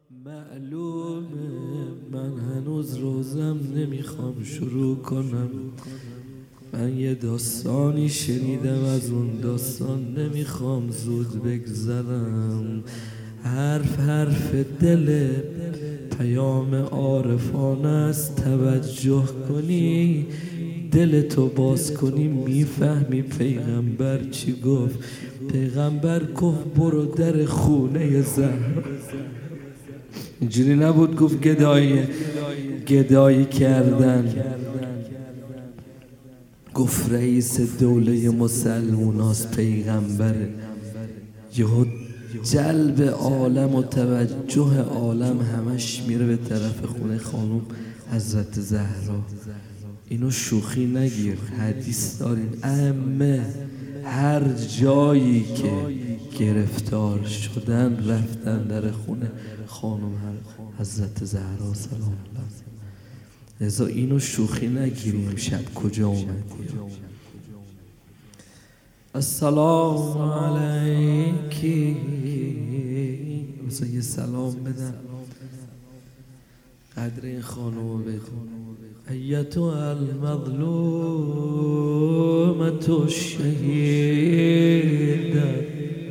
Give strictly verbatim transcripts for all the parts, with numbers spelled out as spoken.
معلومه من هنوز روزم نمیخوام شروع کنم. من یه داستانی شنیدم، از اون داستان نمیخوام زود بگذرم. حرف حرف دل پیام عارفانه است، توجه کنی دلتو باز کنی میفهمی پیغمبر چی گفت. پیغمبر گفت برو در خونه زهرا. اینجوری نبود گفت گدایی گدایی کردن. گفت رئیس دوله مسلموناست پیغمبره. یهو جلب عالم و توجه عالم همش میره به طرف خونه خانم حضرت زهرا. اینو شوخی نگیر، حدیث دارین ائمه هر جایی که گرفتار شدن رفتن در خونه خانم حضرت زهرا سلام الله. لذا اینو شوخی نگیریم. شب کجا اومدی؟ السلام علیکی. مثلا یه سلام بدن، قدر این خانم بکن. ایتها المظلومة الشهیده.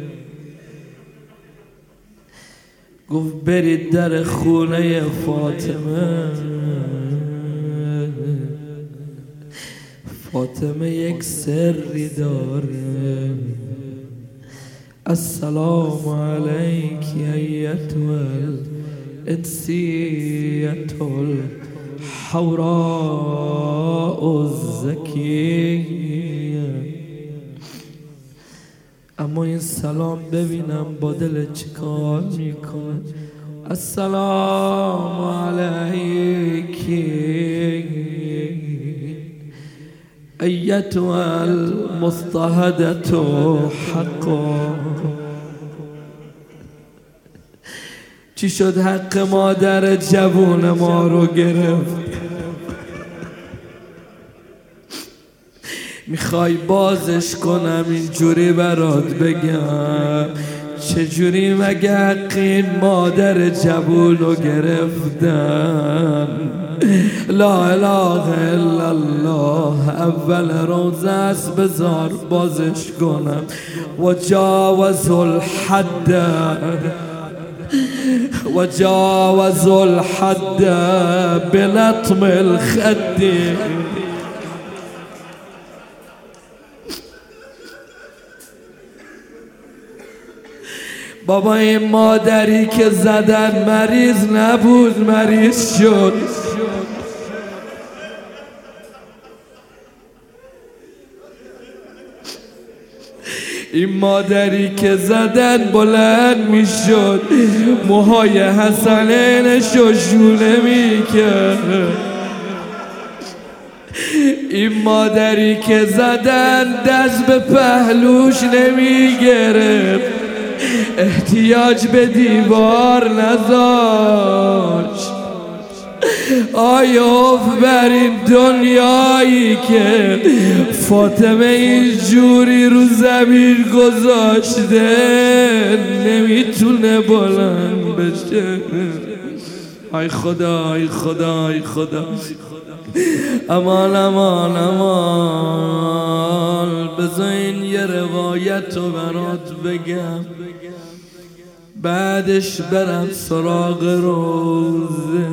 گفت برید در خونه فاطمه. فاطمه یک سری داره. السلام علیک ایتها الانسیة الحوراء الزکیه. اما این سلام ببینم با دل چیکار میکنه. السلام علیکی ایتها المضطهدة حقا. چی شد حق مادر جوون ما رو گرفت؟ میخوای بازش کنم اینجوری برات بگم چجوری مگه حق این مادر جوون رو گرفتن؟ لا اله الا الله. اول روزه است بذار بازش کنم. و جاوز الحد و جاوز الحد بلطم الخد. بابا این مادری که زدن مریض نبود، مریض شد. این مادری که زدن بلند می شد، موهای حسنینش رو شونه می کرد. این مادری که زدن دست به پهلوش نمی گرفت، احتیاج به دیوار نذاشت. آیا بر این دنیایی که فاطمه اینجوری رو زمین گذاشته نمیتونه بلند بشه. ای خدا ای خدا ای خدا. امان امان امان. بذارین یه روایت رو برات بگم، بعدش برم سراغ روزه.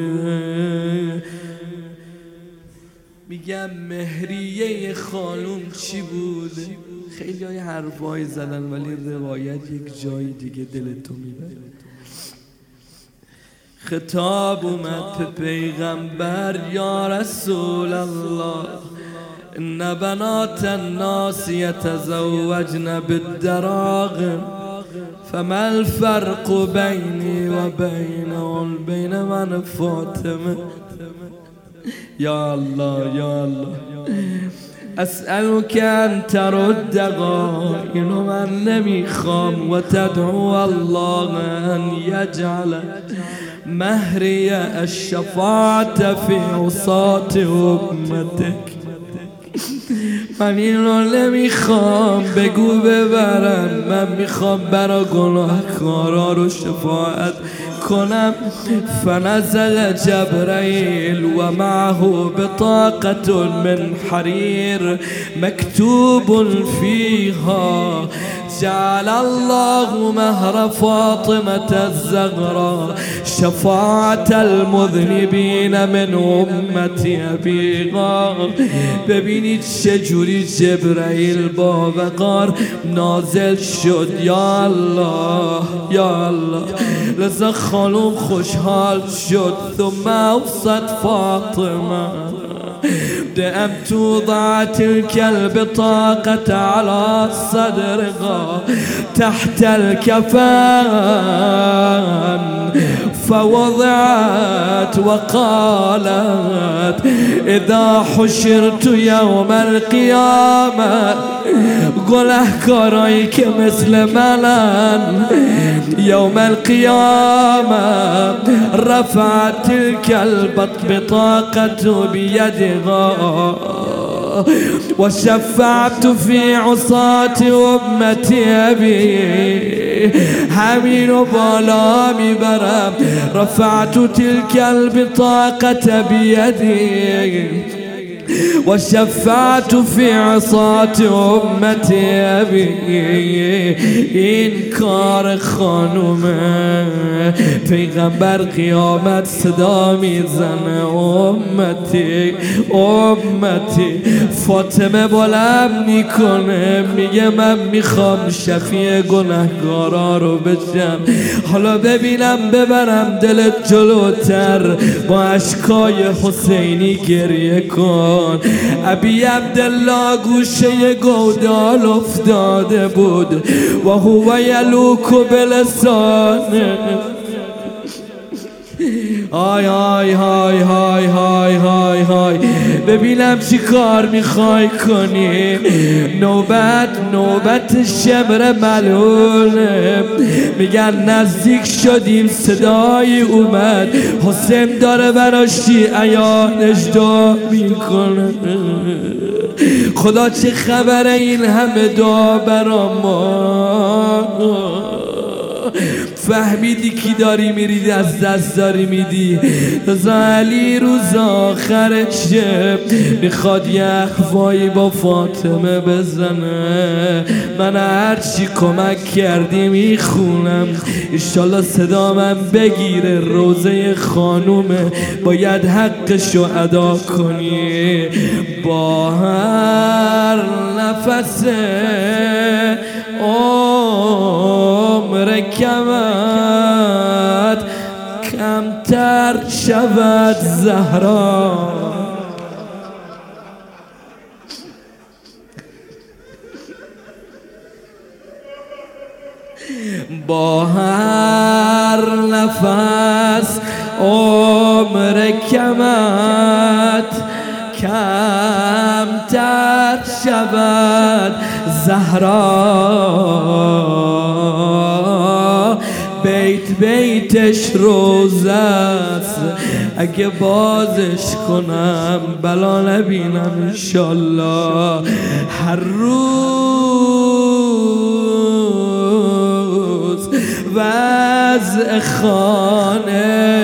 میگم مهریه خانوم چی بود؟ خیلی های حرفایی زدن ولی روایت یک جای دیگه دلتو میبره. خطاب اومد به پیغمبر یا رسول الله ان بنات الناس یتزوجن بالدراغم فما الفرق بینی و بینهم بین من فاطمه. یا الله یا الله اسألك ان ترد اینو من نمیخوام و تدعو الله ان یجعل مهری الشفاعت فی عصات امتک. من اینو نمیخوام بگو ببرم، من میخوام برا گناهکارا رو شفاعت کنم. فنزل جبرائیل و معه بطاقة من حریر مكتوب فيها جعل الله مهر فاطمة الزهراء شفاعة المذنبين من امتی ابی غار. ببینید چجوری جبرائیل با وقار نازل شد. یا الله یا الله. لذا خانوم خوشحال شد. ثم اوصت فاطمه بأن توضع تلك البطاقة على صدرها تحت الكفان، فوضعت وقالت إذا حشرت يوم القيامة گناهکارایی که مثل منن يوم القيامة رفعت تلك البطاقة بيدها وشفعت في عصاة أمتي أبي. همین و بالا میبرم. رفعت تلك البطاقة بيدي وشفعت في عصاة امتی ابی. این کار خانومه. پیغمبر قیامت صدا میزنه امتی امتی. فاطمه بلند میکنه میگه من میخوام شفیع گناهگارا رو بشم. حالا ببینم ببرم دلت جلوتر. با اشکای حسینی گریه کن. ابی عبدالله گوشه گودال افتاده بود و هو یلوک بلسانه. آی آی های های های های های. ببینم چی کار میخوای کنی. نوبت نوبت شمر ملونه. میگن نزدیک شدیم صدای اومد. حسین داره برا شیعیانش دعا میکنه. خدا چه خبره این همه دعا برا ما. فهمیدی کی داری میری از دست داری میدی. رضا علی روز آخر شب میخواد یه اخوایی با فاطمه بزنه. من هرچی کمک کردی میخونم. انشالله صدا من بگیره. روزه خانومه باید حقشو ادا کنی. با هر نفسه عمر کمت کمتر شود زهرا. با هر نفس عمر کمت کمتر شود زهرا. بیت بیتش روزه است. اگه بازش کنم بلا نبینم انشالله. هر روز وضع خانه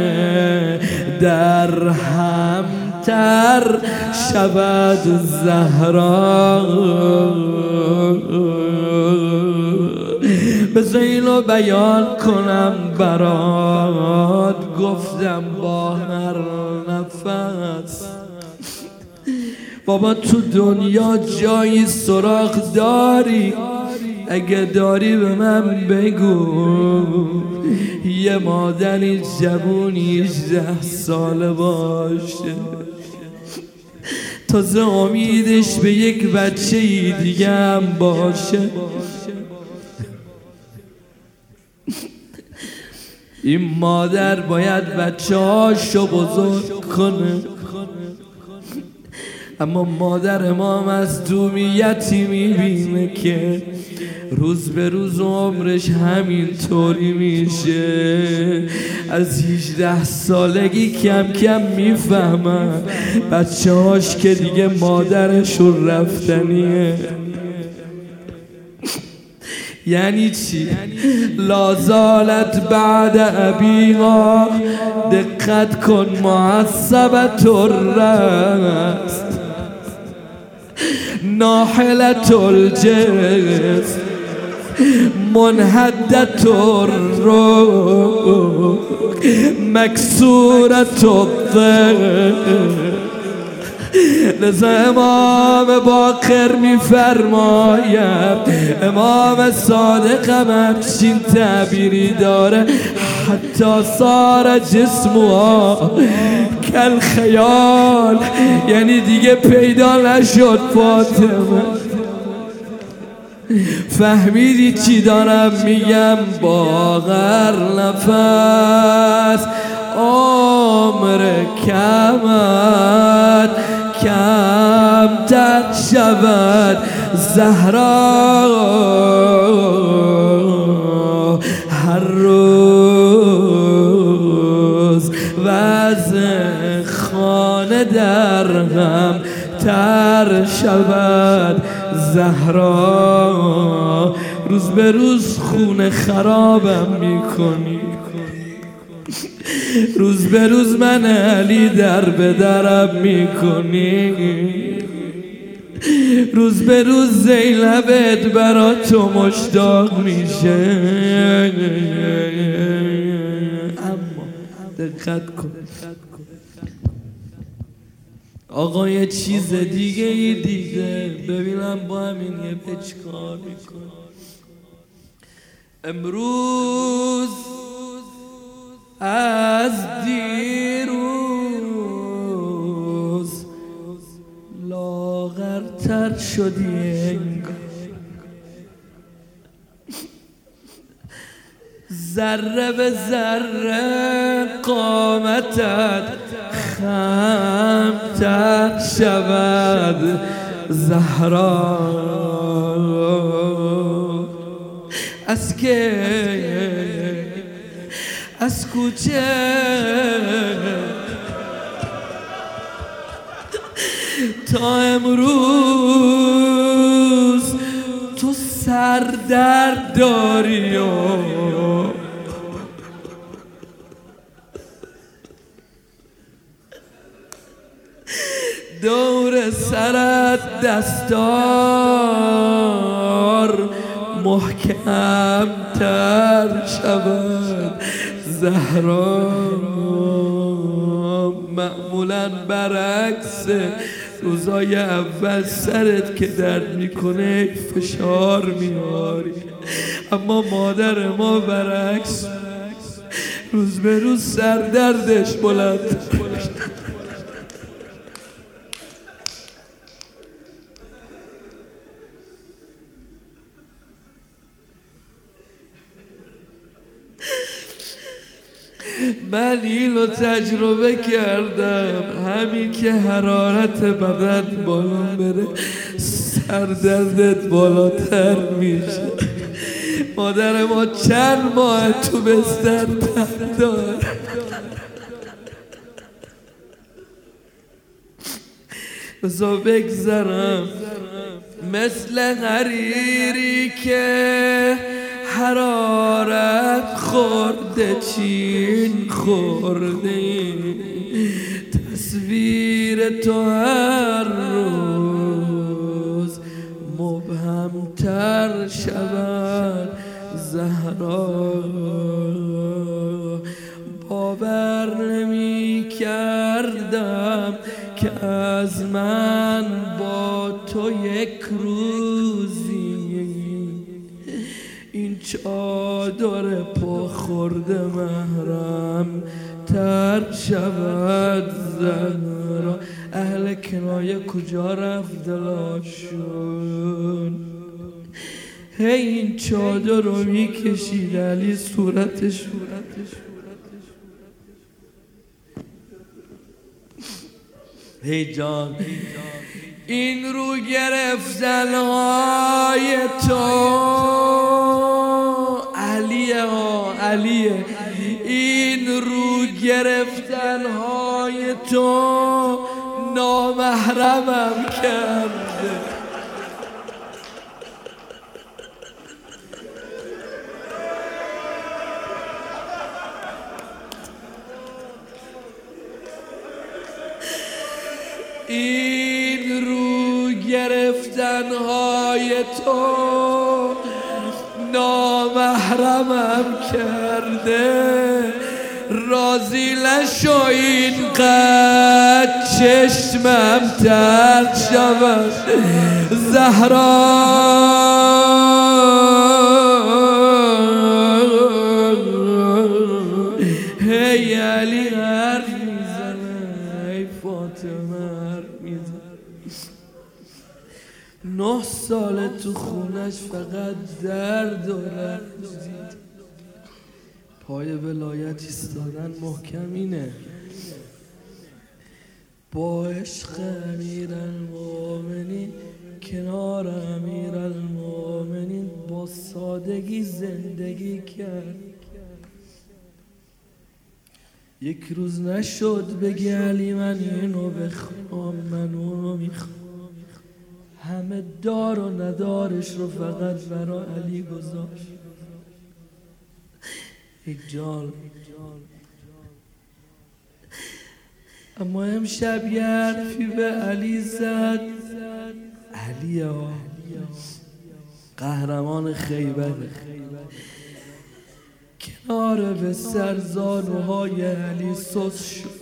در همتر شود زهرا. بذار اینو بیان کنم برات. گفتم با هر نفس. بابا تو دنیا جایی سراغ داری؟ اگه داری به من بگو. یه مادری جوونی هجده ساله باشه تازه امیدش به یک بچه دیگه هم باشه. این مادر باید بچه هاشو بزرگ کنه. اما مادر امام از دومیتی میبینه که روز به روز عمرش همینطوری میشه. از هجده سالگی کم کم میفهمن بچه هاش که دیگه مادرشون رفتنیه. یعنی چی؟ لازالت بعد ابیها، دقت کن، معصبت الرست ناحلت الجسم منحدت الروح مکسورت الظهر. لذا امام باقر میفرماید، امام صادق هم همچین تعبیری داره، حتی صار جسمها کل خیال، یعنی دیگه پیدا نشد فاطمه. فهمیدی چی دارم میگم؟ باقر نفس عمر کمت کمتر شود زهرا، هر روز وضع خانه در غم تر شود زهرا. روز به روز خونه خرابم میکنی، روز به روز من علی در به درم میکنی، روز به روز زینبت برا تو مشتاق میشه. اما دقت کن آقا، یه چیز دیگه ای دیگه ببینم با همین یه پچکار میکن. امروز از دیروز لاغرتر شدی انگار، ذره به ذره قامتت خمتر شود زهرا. از که از کوچه تا امروز تو سردرد داری و دور سرت دستار محکم تر شود زهرا. معمولا برعکس روزای اول سرت که درد میکنه فشار میاری، اما مادر ما برعکس روز به روز سردردش بلند. من اینو تجربه کردم، همین که حرارت بدن بالا بره سردردت بالاتر میشه. مادر ما چند ماه تو بستر تن داره، بذار بگذرم مثل حریری که حرارت خورده چین خورده، تصویر تو هر روز مبهمتر شود زهرا. باور نمی کردم که از من با تو یک روزی این چادر پا خورده محرم تر شود زهرا. اهل کنایه کجا رفت دلاشون؟ هی این چادر رو میکشید علی صورتش هی جان این رو گرفتنهای تو علیه ها علیه، این رو گرفتنهای تو نامحرمم کرده. این رو گرفتنهای تو نامحرمم کرده. راضی نشو اینقدر چشمم تر شود زهرا، هی علی حرف میزنه، ای فاطمه حرف میزنه. نه ساله تو خونش فقط درد و رنج دید. پای ولایت ایستادن محکم اینه. با عشق امیرالمومنین کنار امیرالمومنین با سادگی زندگی کرد. یک روز نشد بگی علی من اینو بخوام، من اونو میخوام. همه دار و ندارش رو فقط برا علی گذاشت. یک جال اما امشب یه حرفی به علی زد. علی ها قهرمان خیبر کنار به سرزانوهای علی سوس شد.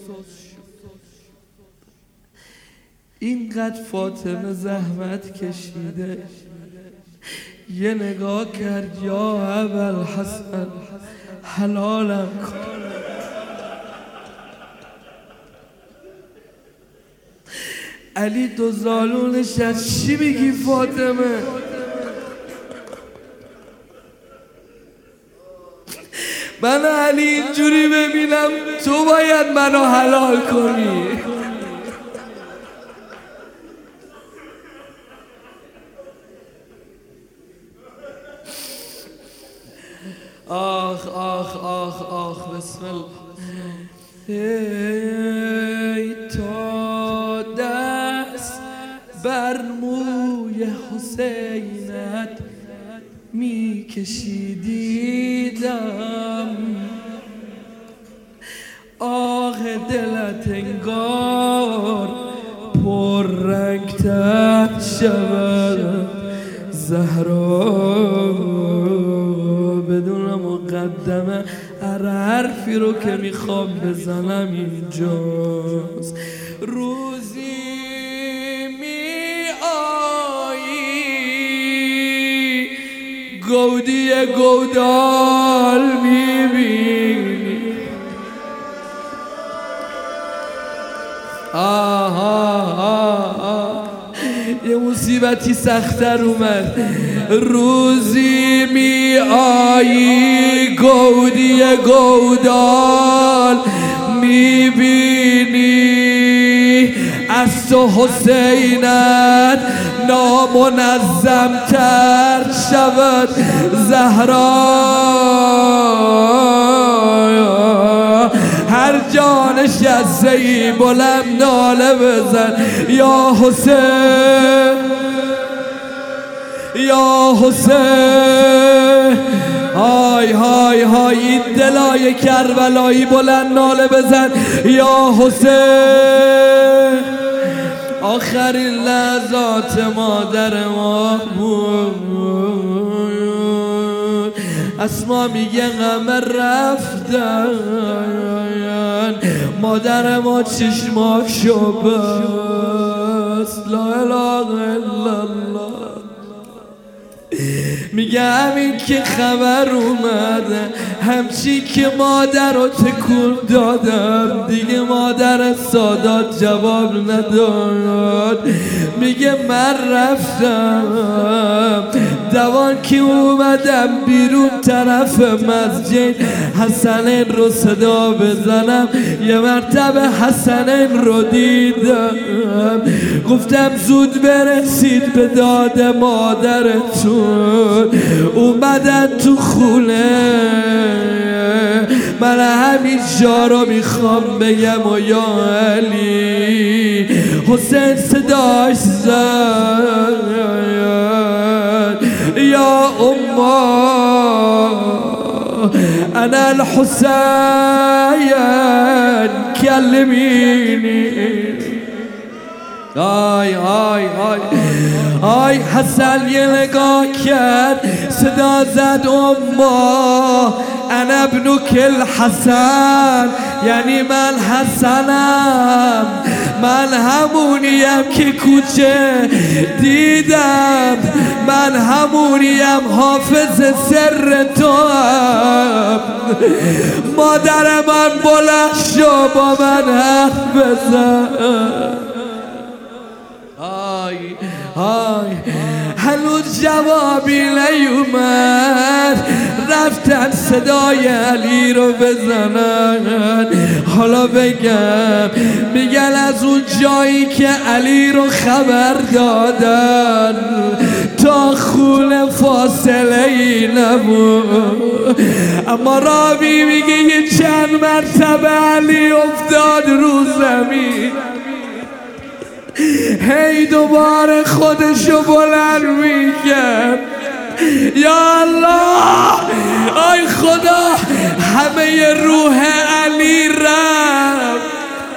اینقدر فاطمه زحمت کشیده، یه نگاه کرد، یا ابوالحسن حلالم کن. علی دو زالونش از چی میگی فاطمه؟ من علی اینجوری ببینم تو باید منو حلال کنی. آخ آخ آخ آخ بسم الله. ای تا دست بر موی حسینت می کشیدیدم، آه دلت انگار پر رنگ تر شود زهرا. بدون مقدمه هر حرفی رو که میخوام بزنم اینجاست. روزی می آیی گودی گودال میبینی. آها آها یه مصیبتی سختر اومد. روزی می آیی گودی گودال میبینی، از تو حسینت نامنظم تر شود زهرا. هر جا نشسته ای بلند ناله بزن یا حسین یا حسین. های های های این دلای کربلایی بلند ناله بزن یا حسین. آخرین لحظات مادر ما بود. اسما میگه غمه رفتن، مادر ما چشماشو بست. لا اله الا الله. میگه همین که خبر اومده، همچی که مادر رو تکون دادم، دیگه مادر سادات جواب نداد. میگه من رفتم دوان که اومدم بیرون طرف مسجد حسنین رو صدا بزنم، یه مرتبه حسنین رو دیدم، گفتم زود برسید به داد مادرتون، اومدن تو خونه. من همین جا رو میخوام بگم و یا علی حسین صداش زد یا اما انا الحسین کلمینی. آی آی آی آی حسن یه نگاه کرد صدا زد اما انا ابنک الحسن، یعنی من حسنم، من همونیم که کوچه دیدم، من همونیم حافظ سر تو هم. مادر من بلند شو با من حرف بزن. آی آی هنوز جوابی نیومد، رفتن صدای علی رو بزنن. حالا بگم میگن از اون جایی که علی رو خبر دادن تا خونه فاصله ای نبود، اما راوی میگه یه چند مرتبه علی افتاد رو زمین، هی دوباره خودشو بلند میکرد یا الله آی خدا همه روح علی رفت.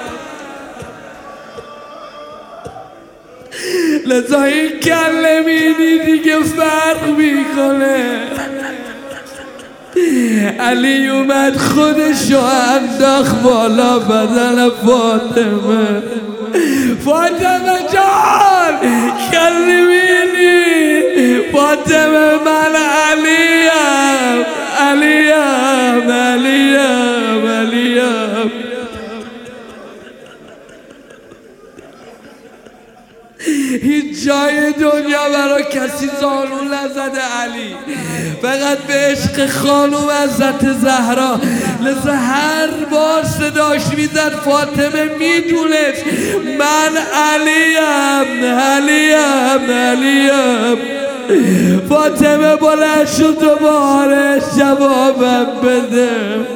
لذا این کلمینی دیگه فرق میکنه. علی اومد خودشو انداخت بالا بدن فاطمه. فاطمه جان کلمینی، فاطمه من علیم علیم علیم علیم. هیچ جای دنیا برای کسی زانو نزده علی، فقط به عشق خانوم حضرت زهرا. لذا هر بار صداش میزد فاطمه میدونست من علیم علیم علیم. فاطمه بلند شد دوباره جوابم بده.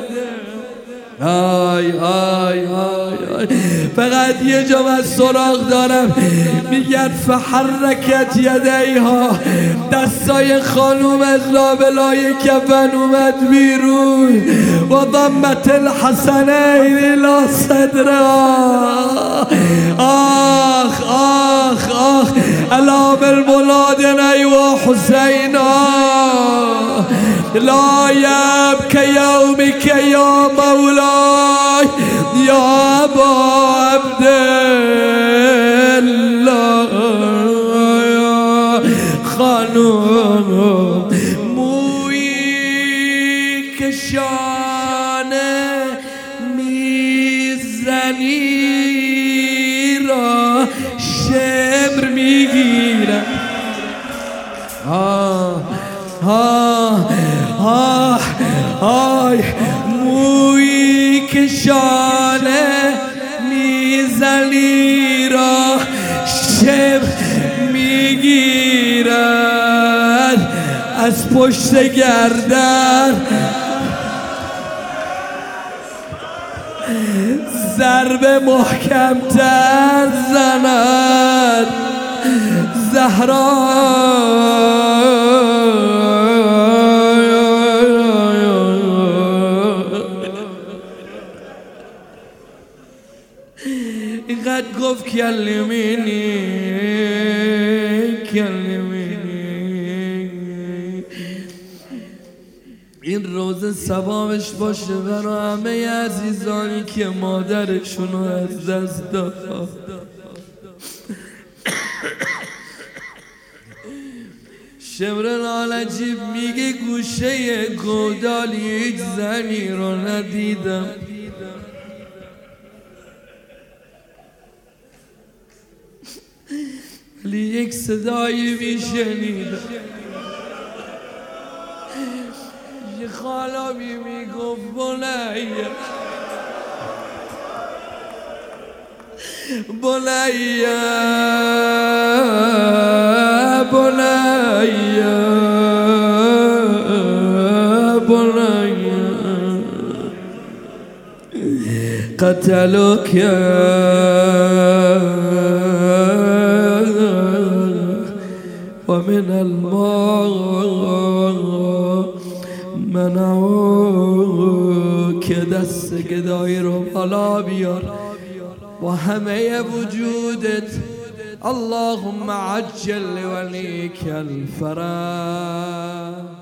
آی آی آی آی فقط یه جا من سراغ دارم، میگن فحرکت یدیها، دستای خانوم از لابلای کفن اومد بیرون و ضمت الحسنین الى صدرها. آخ آخ آخ الا بالمولادین و حسینا لا یبک یومک یا مولاي یا ابا عبدالله. خانوم مویی کشانه میزنی را شمر میگیرم. آه آه آه آی مویی کشانه میزنی را شمر میگیرد، از پشت گردن ضربه محکم‌تر زند. زهرا اینقدر گفت کلمینی کلمینی. این روز ثوابش باشه برای همه عزیزانی که مادرشونو از دست داد. شمر نالجیب میگه گوشه گودالی یک زنی رو ندیدم، ولی یک صدایی میشنیدم حاج خالمی میگفت بنیه بنیه بنیه بنیه قتلوك ومن الماء منعوك دست گدایی رو بالا بیار با همه وجودت اللهم عجل لوليك الفرج.